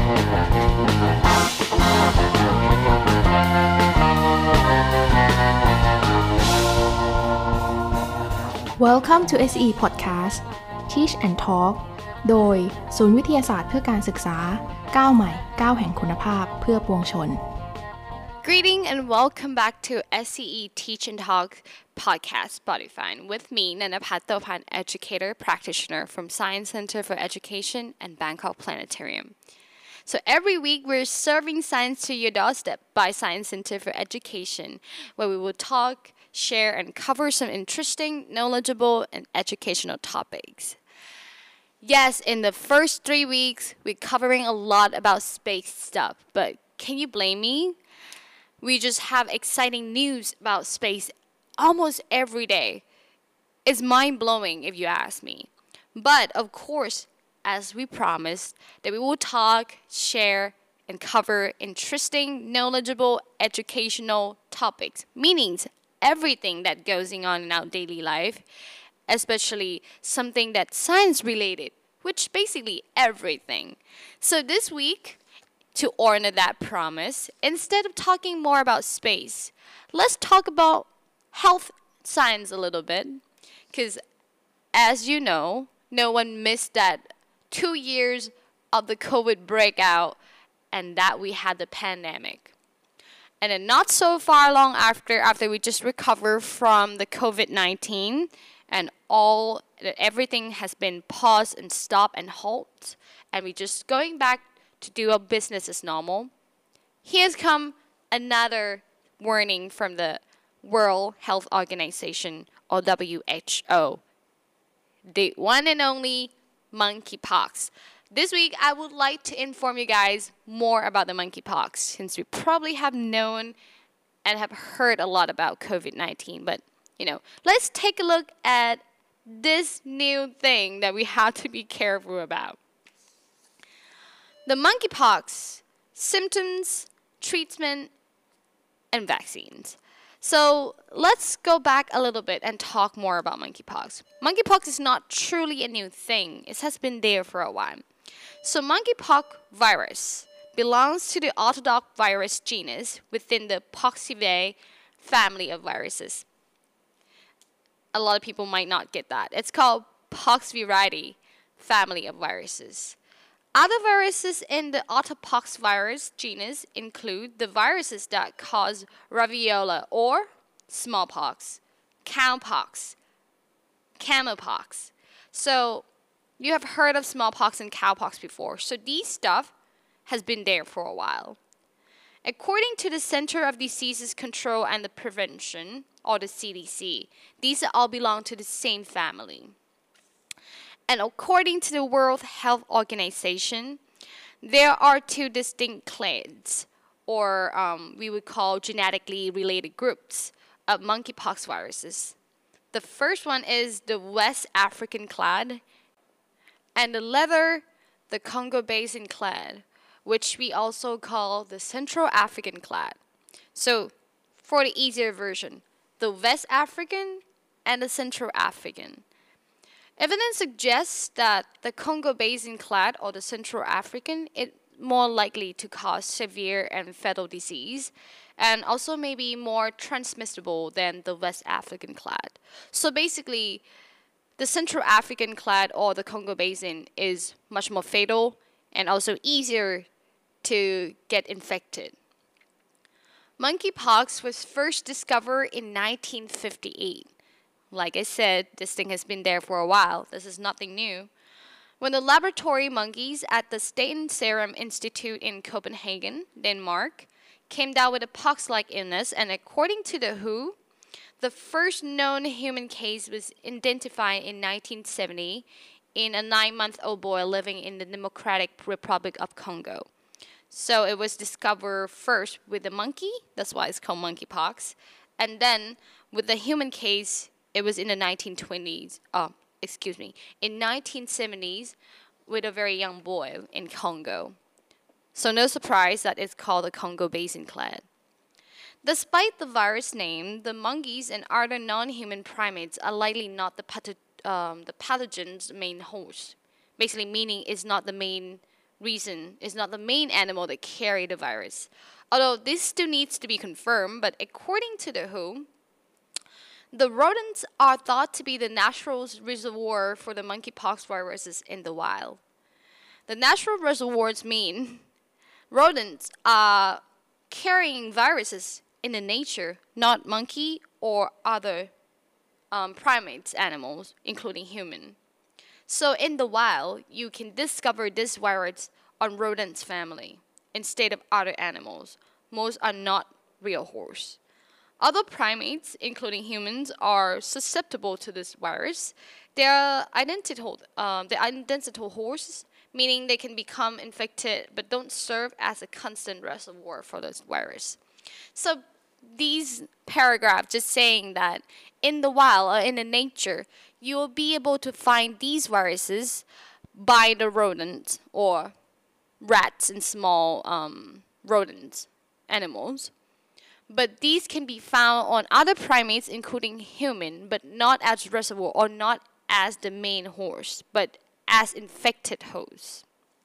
Welcome to SE Podcast Teach and Talk โดยศูนย์วิทยาศาสตร์เพื่อการศึกษาก้าวใหม่ก้าวแห่งคุณภาพเพื่อปวงชน Greeting and welcome back to SCE Teach and Talk podcast Spotify with me, Nanapat Thopan, educator practitioner from Science Center for Education and Bangkok Planetarium. So every week we're serving science to your doorstep by Science Center for Education, where we will talk, share, and cover some interesting, knowledgeable, and educational topics. Yes, in the first 3 weeks, we're covering a lot about space stuff, but can you blame me? We just have exciting news about space almost every day. It's mind-blowing if you ask me. But of course, as we promised, that we will talk, share, and cover interesting, knowledgeable, educational topics, meaning everything that goes on in our daily life, especially something that's science-related, which basically everything. So this week, to honor that promise, instead of talking more about space, let's talk about health science a little bit. Because as you know, no one missed that 2 years of the COVID breakout and that we had the pandemic. And then not so far long after we just recovered from the COVID-19 and everything has been paused and stopped and halt, and we're just going back to do our business as normal, here's come another warning from the World Health Organization, or WHO, the one and only monkeypox. This week, I would like to inform you guys more about the monkeypox, since we probably have known and have heard a lot about COVID-19. But, let's take a look at this new thing that we have to be careful about. The monkeypox, symptoms, treatment, and vaccines. So let's go back a little bit and talk more about monkeypox. Monkeypox is not truly a new thing. It has been there for a while. So monkeypox virus belongs to the orthodox virus genus within the Poxvirinae family of viruses. A lot of people might not get that. It's called Poxvirinae family of viruses. Other viruses in the orthopoxvirus genus include the viruses that cause variola or smallpox, cowpox, camelpox. So you have heard of smallpox and cowpox before. So these stuff has been there for a while. According to the Center of Diseases Control and the Prevention, or the CDC, these all belong to the same family. And according to the World Health Organization, there are 2 distinct clades, or we would call genetically related groups of monkeypox viruses. The first one is the West African clade, and the latter, the Congo Basin clade, which we also call the Central African clade. So, for the easier version, the West African and the Central African. Evidence suggests that the Congo Basin clade, or the Central African, is more likely to cause severe and fatal disease, and also maybe more transmissible than the West African clade. So basically, the Central African clade, or the Congo Basin, is much more fatal and also easier to get infected. Monkeypox was first discovered in 1958. Like I said, this thing has been there for a while. This is nothing new. When the laboratory monkeys at the Statens Serum Institute in Copenhagen, Denmark, came down with a pox-like illness, and according to the WHO, the first known human case was identified in 1970 in a 9-month-old boy living in the Democratic Republic of Congo. So it was discovered first with the monkey, that's why it's called monkeypox, and then with the human case, it was in the 1970s with a very young boy in Congo. So no surprise that it's called the Congo Basin clade. Despite the virus name, the monkeys and other non-human primates are likely not the pathogen's main host. Basically meaning it's not the main reason is not the main animal that carry the virus. Although this still needs to be confirmed, but according to the WHO, the rodents are thought to be the natural reservoir for the monkeypox viruses in the wild. The natural reservoirs mean rodents are carrying viruses in the nature, not monkey or other primates animals, including human. So in the wild, you can discover this virus on rodents' family instead of other animals. Most are not real horse. Other primates, including humans, are susceptible to this virus. They are identical horses, meaning they can become infected but don't serve as a constant reservoir for this virus. So these paragraphs just saying that in the wild or in the nature, you will be able to find these viruses by the rodents or rats and small rodents, animals. But these can be found on other primates, including human, but not as reservoir or not as the main host, but as infected hosts.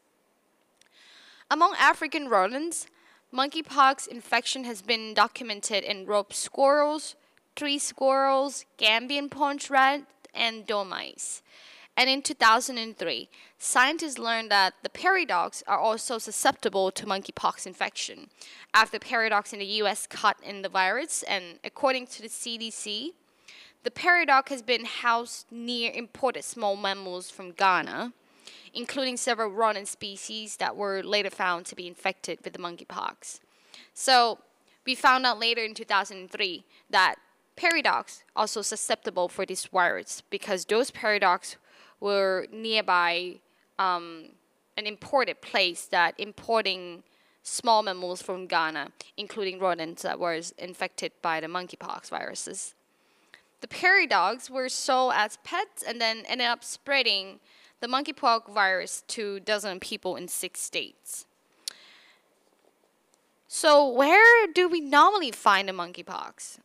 Among African rodents, monkeypox infection has been documented in rope squirrels, tree squirrels, Gambian punch rat, and dormice. And in 2003, scientists learned that the prairie dogs are also susceptible to monkeypox infection after prairie dogs in the U.S. caught in the virus. And according to the CDC, the prairie dog has been housed near imported small mammals from Ghana, including several rodent species that were later found to be infected with the monkeypox. So we found out later in 2003 that prairie dogs are also susceptible for this virus because those prairie dogs were nearby an imported place that importing small mammals from Ghana, including rodents that were infected by the monkeypox viruses. The prairie dogs were sold as pets and then ended up spreading the monkeypox virus to dozens of people in 6 states. So where do we normally find the monkeypox?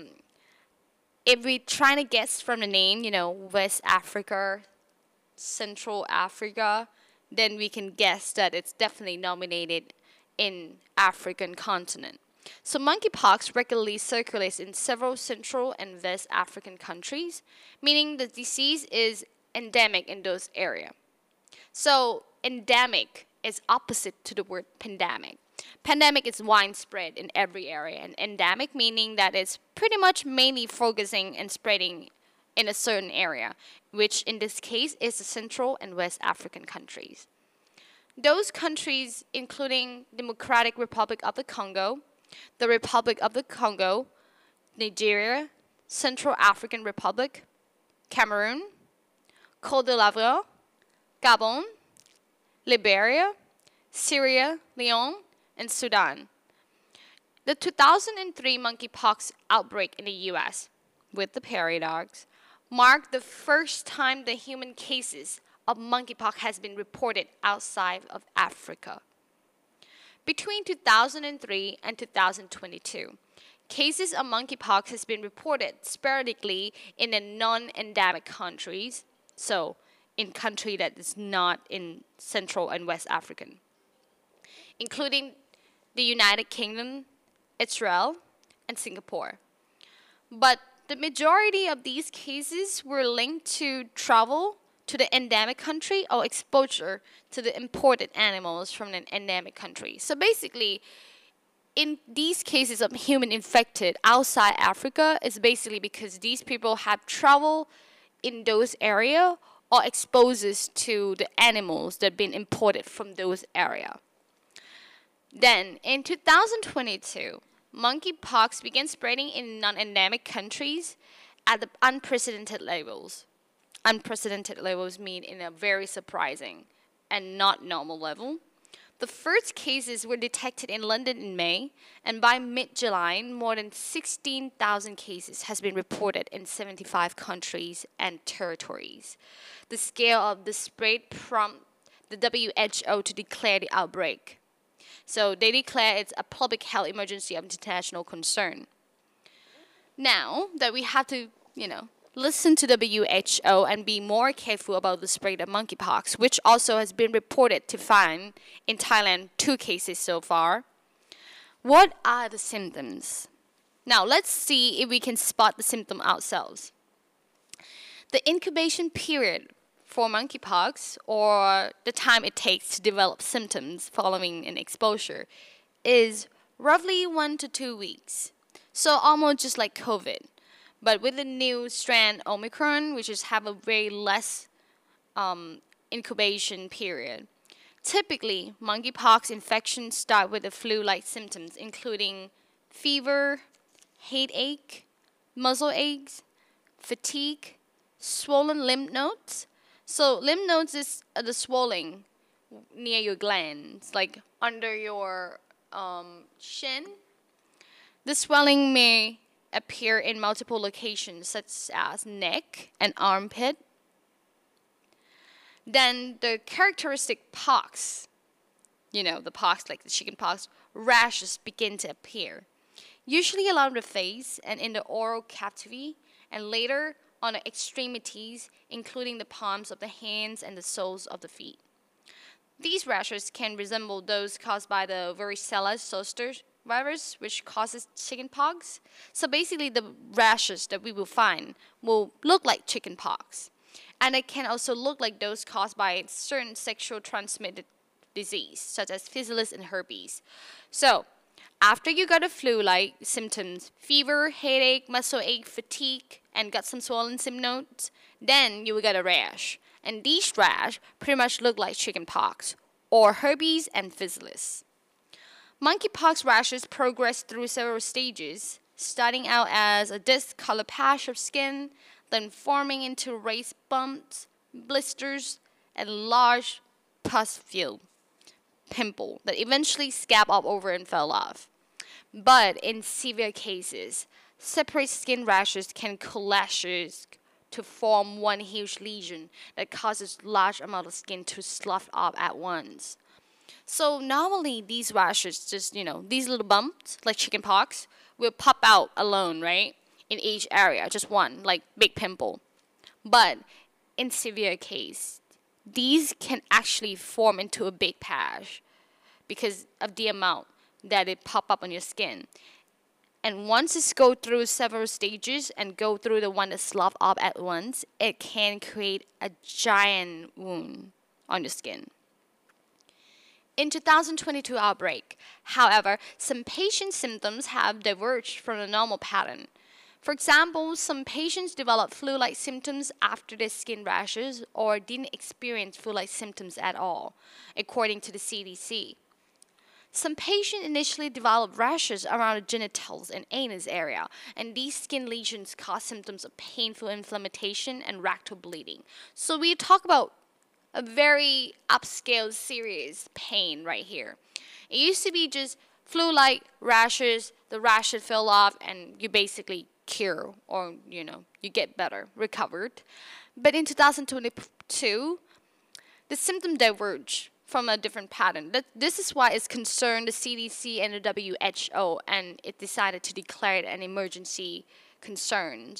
If we're trying to guess from the name, West Africa, Central Africa, then we can guess that it's definitely nominated in African continent. So monkeypox regularly circulates in several Central and West African countries, meaning the disease is endemic in those areas. So endemic is opposite to the word pandemic. Pandemic is widespread in every area, and endemic meaning that it's pretty much mainly focusing and spreading in a certain area, which in this case is the Central and West African countries. Those countries including Democratic Republic of the Congo, the Republic of the Congo, Nigeria, Central African Republic, Cameroon, Côte d'Ivoire, Gabon, Liberia, Sierra Leone, and Sudan. The 2003 monkeypox outbreak in the U.S. with the prairie dogs marked the first time the human cases of monkeypox has been reported outside of Africa. Between 2003 and 2022, cases of monkeypox has been reported sporadically in the non-endemic countries, so in country that is not in Central and West African, including the United Kingdom, Israel, and Singapore. But the majority of these cases were linked to travel to the endemic country or exposure to the imported animals from an endemic country. So basically, in these cases of human infected outside Africa, it's basically because these people have traveled in those areas or exposes to the animals that have been imported from those areas. Then, in 2022, monkeypox began spreading in non-endemic countries at the unprecedented levels. Unprecedented levels mean in a very surprising and not normal level. The first cases were detected in London in May, and by mid-July, more than 16,000 cases has been reported in 75 countries and territories. The scale of the spread prompted the WHO to declare the outbreak. So they declare it's a public health emergency of international concern. Now that we have to, listen to WHO and be more careful about the spread of monkeypox, which also has been reported to find in Thailand 2 cases so far. What are the symptoms? Now let's see if we can spot the symptom ourselves. The incubation period for monkeypox, or the time it takes to develop symptoms following an exposure, is roughly 1 to 2 weeks. So almost just like COVID. But with the new strand Omicron, which is have a very less incubation period. Typically, monkeypox infections start with the flu-like symptoms, including fever, headache, muscle aches, fatigue, swollen lymph nodes. So lymph nodes is the swelling near your glands, like under your shin. The swelling may appear in multiple locations, such as neck and armpit. Then the characteristic pox, the pox like the chicken pox, rashes begin to appear, usually along the face and in the oral cavity, and later on the extremities, including the palms of the hands and the soles of the feet. These rashes can resemble those caused by the varicella zoster virus, which causes chickenpox. So basically, the rashes that we will find will look like chickenpox. And it can also look like those caused by certain sexual transmitted disease, such as physalis and herpes. So, after you got the flu-like symptoms, fever, headache, muscle ache, fatigue, and got some swollen lymph nodes, then you will get a rash. And these rash pretty much look like chickenpox, or herpes and physalis. Monkeypox rashes progress through several stages, starting out as a disc-colored patch of skin, then forming into raised bumps, blisters, and large pus-filled pimple that eventually scab up over and fell off. But in severe cases, separate skin rashes can coalesce to form one huge lesion that causes large amount of skin to slough off at once. So normally these rashes, just these little bumps like chickenpox, will pop out alone, right? In each area, just one, like big pimple. But in severe case, these can actually form into a big patch because of the amount that it pop up on your skin. And once it's go through several stages and go through the one that slough up at once, it can create a giant wound on your skin. In 2022 outbreak, however, some patient symptoms have diverged from the normal pattern. For example, some patients developed flu-like symptoms after their skin rashes or didn't experience flu-like symptoms at all, according to the CDC. Some patients initially developed rashes around the genitals and anus area, and these skin lesions cause symptoms of painful inflammation and rectal bleeding. So we talk about a very upscale serious pain right here. It used to be just flu-like rashes, the rashes fell off, and you basically cure, or you get better, recovered. But in 2022, the symptoms diverge from a different pattern. This is why it's concerned the CDC and the WHO, and it decided to declare it an emergency concern.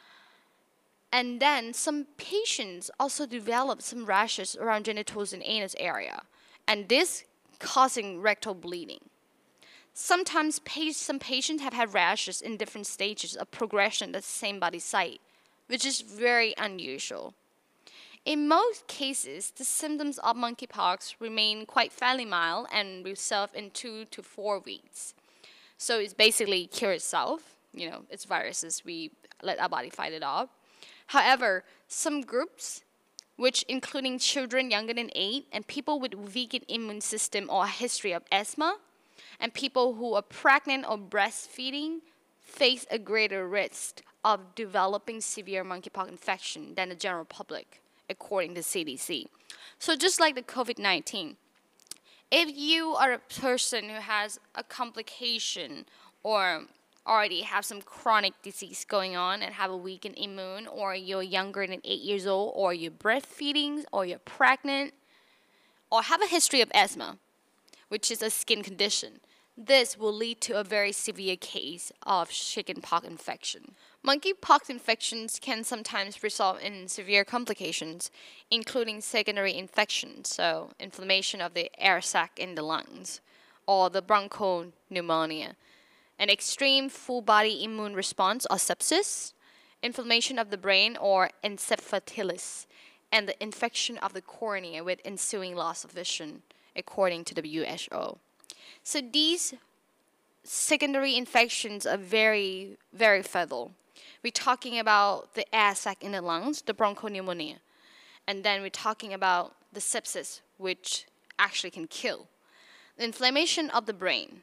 And then some patients also develop some rashes around genitals and anus area, and this causing rectal bleeding. Sometimes some patients have had rashes in different stages of progression at the same body site, which is very unusual. In most cases, the symptoms of monkeypox remain quite fairly mild and resolve in 2 to 4 weeks. So it's basically cure itself. It's viruses, we let our body fight it off. However, some groups, which including children younger than 8 and people with weakened immune system or a history of asthma, and people who are pregnant or breastfeeding, face a greater risk of developing severe monkeypox infection than the general public, according to CDC. So just like the COVID-19, if you are a person who has a complication or already have some chronic disease going on and have a weakened immune, or you're younger than 8 years old, or you're breastfeeding, or you're pregnant, or have a history of asthma, which is a skin condition, this will lead to a very severe case of chickenpox infection. Monkeypox infections can sometimes result in severe complications, including secondary infections, so inflammation of the air sac in the lungs, or the bronchopneumonia, an extreme full body immune response or sepsis, inflammation of the brain or encephalitis, and the infection of the cornea with ensuing loss of vision, according to WHO. So these secondary infections are very, very fatal. We're talking about the air sac in the lungs, the bronchopneumonia, and then we're talking about the sepsis, which actually can kill. The inflammation of the brain.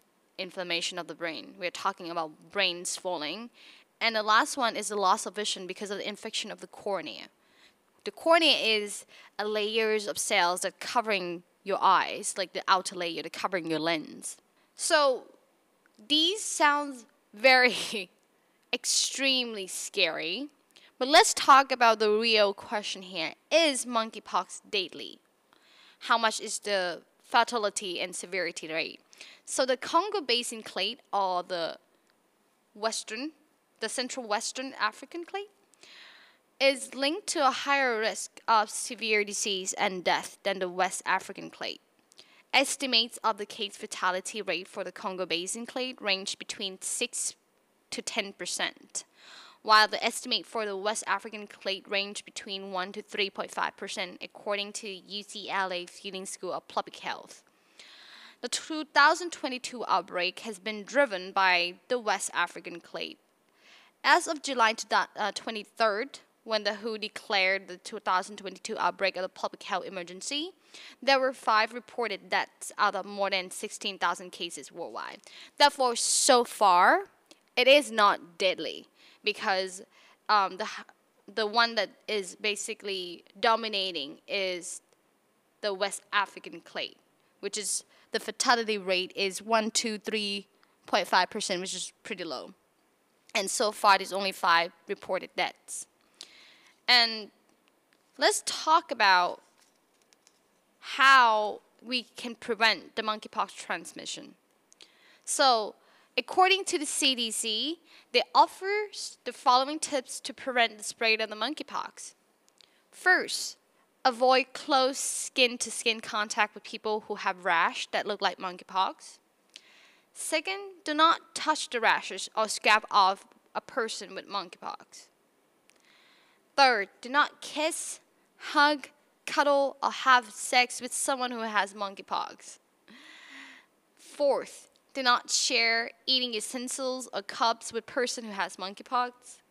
We're talking about brain swelling. And the last one is the loss of vision because of the infection of the cornea. The cornea is a layers of cells that covering your eyes, like the outer layer, that covering your lens. So these sound very extremely scary, but let's talk about the real question here. Is monkeypox deadly? How much is the fatality and severity rate? So the Congo Basin clade, or the Central Western African clade, is linked to a higher risk of severe disease and death than the West African clade. Estimates of the case fatality rate for the Congo Basin clade range between 6 to 10%, while the estimate for the West African clade range between 1 to 3.5%, according to UCLA Fielding School of Public Health. The 2022 outbreak has been driven by the West African clade. As of July 23rd, when the WHO declared the 2022 outbreak of the public health emergency, there were 5 reported deaths out of more than 16,000 cases worldwide. Therefore, so far, it is not deadly because the one that is basically dominating is the West African clade, which is the fatality rate is 1 to 3.5%, which is pretty low. And so far, there's only 5 reported deaths. And let's talk about how we can prevent the monkeypox transmission. So, according to the CDC, they offer the following tips to prevent the spread of the monkeypox. First, avoid close skin-to-skin contact with people who have rash that look like monkeypox. Second, do not touch the rashes or scab off a person with monkeypox. Third, do not kiss, hug, cuddle, or have sex with someone who has monkeypox. Fourth, do not share eating utensils or cups with person who has monkeypox.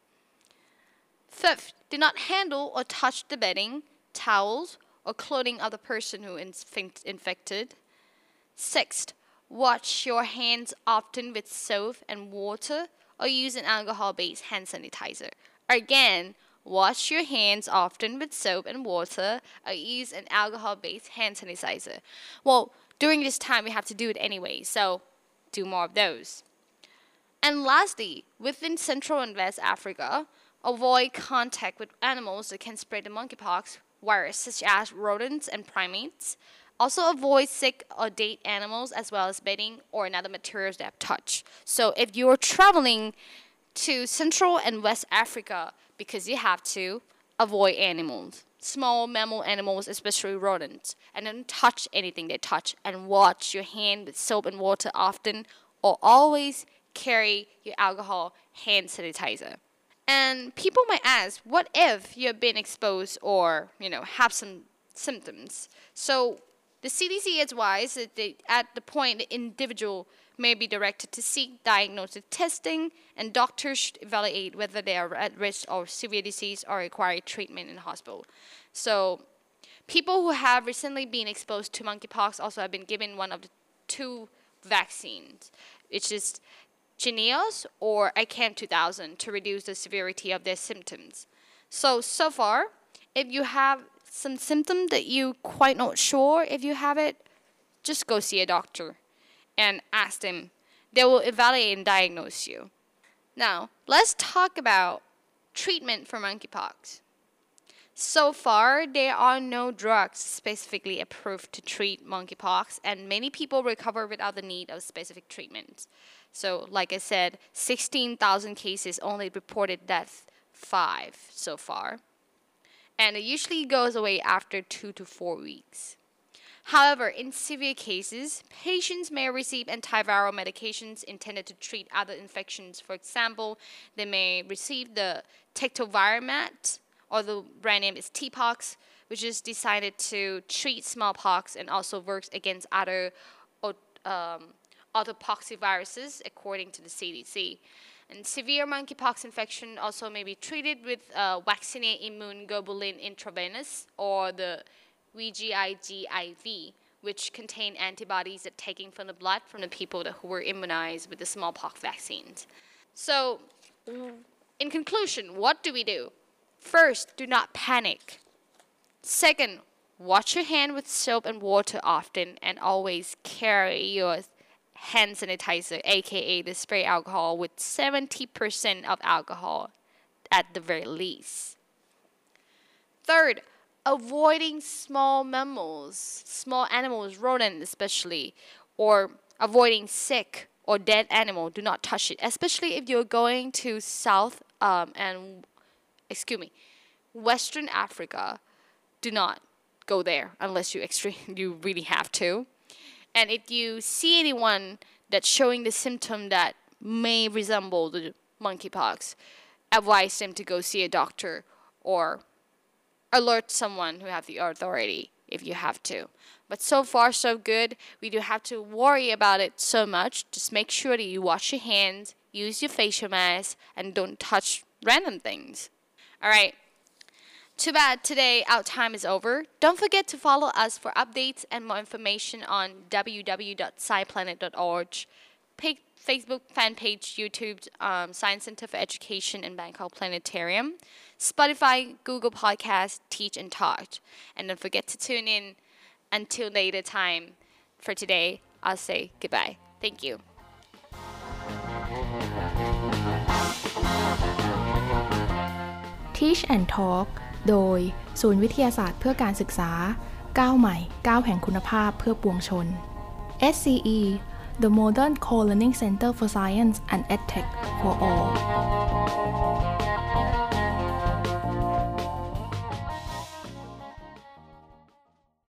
Fifth, do not handle or touch the bedding, towels, or clothing of the person who is infected. Sixth, wash your hands often with soap and water or use an alcohol-based hand sanitizer. Again, wash your hands often with soap and water or use an alcohol-based hand sanitizer. Well, during this time, we have to do it anyway, so do more of those. And lastly, within Central and West Africa, avoid contact with animals that can spread the monkeypox virus, such as rodents and primates. Also avoid sick or dead animals as well as bedding or another materials that touch. So if you're traveling to Central and West Africa, because you have to, avoid animals, small mammal animals, especially rodents, and don't touch anything they touch, and wash your hand with soap and water often, or always carry your alcohol hand sanitizer. And people might ask, what if you have been exposed or, have some symptoms? So the CDC advises that at the point the individual may be directed to seek diagnostic testing, and doctors should evaluate whether they are at risk of severe disease or require treatment in the hospital. So people who have recently been exposed to monkeypox also have been given one of the 2 vaccines, which is Jynneos or ACAM2000, to reduce the severity of their symptoms. So far, if you have some symptom that you're quite not sure if you have it, just go see a doctor and ask them. They will evaluate and diagnose you. Now, let's talk about treatment for monkeypox. So far, there are no drugs specifically approved to treat monkeypox, and many people recover without the need of specific treatment. So, like I said, 16,000 cases, only reported death 5 so far. And it usually goes away after 2 to 4 weeks. However, in severe cases, patients may receive antiviral medications intended to treat other infections. For example, they may receive the tectovirimat, or the brand name is TPOXX, which is designed to treat smallpox and also works against other autopoxviruses, according to the CDC. And severe monkeypox infection also may be treated with vaccinate immune globulin intravenous, or the VGIG-IV, which contain antibodies that taken from the blood from the people who were immunized with the smallpox vaccines. So, in conclusion, what do we do? First, do not panic. Second, wash your hand with soap and water often, and always carry your hand sanitizer, aka the spray alcohol, with 70% of alcohol at the very least. Third, avoiding small mammals, small animals, rodents especially, or avoiding sick or dead animal. Do not touch it, especially if you're going to Western Africa. Do not go there unless you really have to. And if you see anyone that's showing the symptom that may resemble the monkeypox, advise them to go see a doctor or alert someone who have the authority if you have to. But so far, so good. We don't have to worry about it so much. Just make sure that you wash your hands, use your facial mask, and don't touch random things. All right. Too bad today our time is over. Don't forget to follow us for updates and more information on www.sciplanet.org, Facebook fan page, YouTube, Science Center for Education and Bangkok Planetarium, Spotify, Google Podcasts, Teach and Talk. And don't forget to tune in until later time. For today, I'll say goodbye. Thank you. Teach and Talk โดยศูนย์วิทยาศาสตร์เพื่อการศึกษาก้าวใหม่ก้าวแห่งคุณภาพเพื่อปวงชน SCE The Modern Co-Learning Center for Science and EdTech for All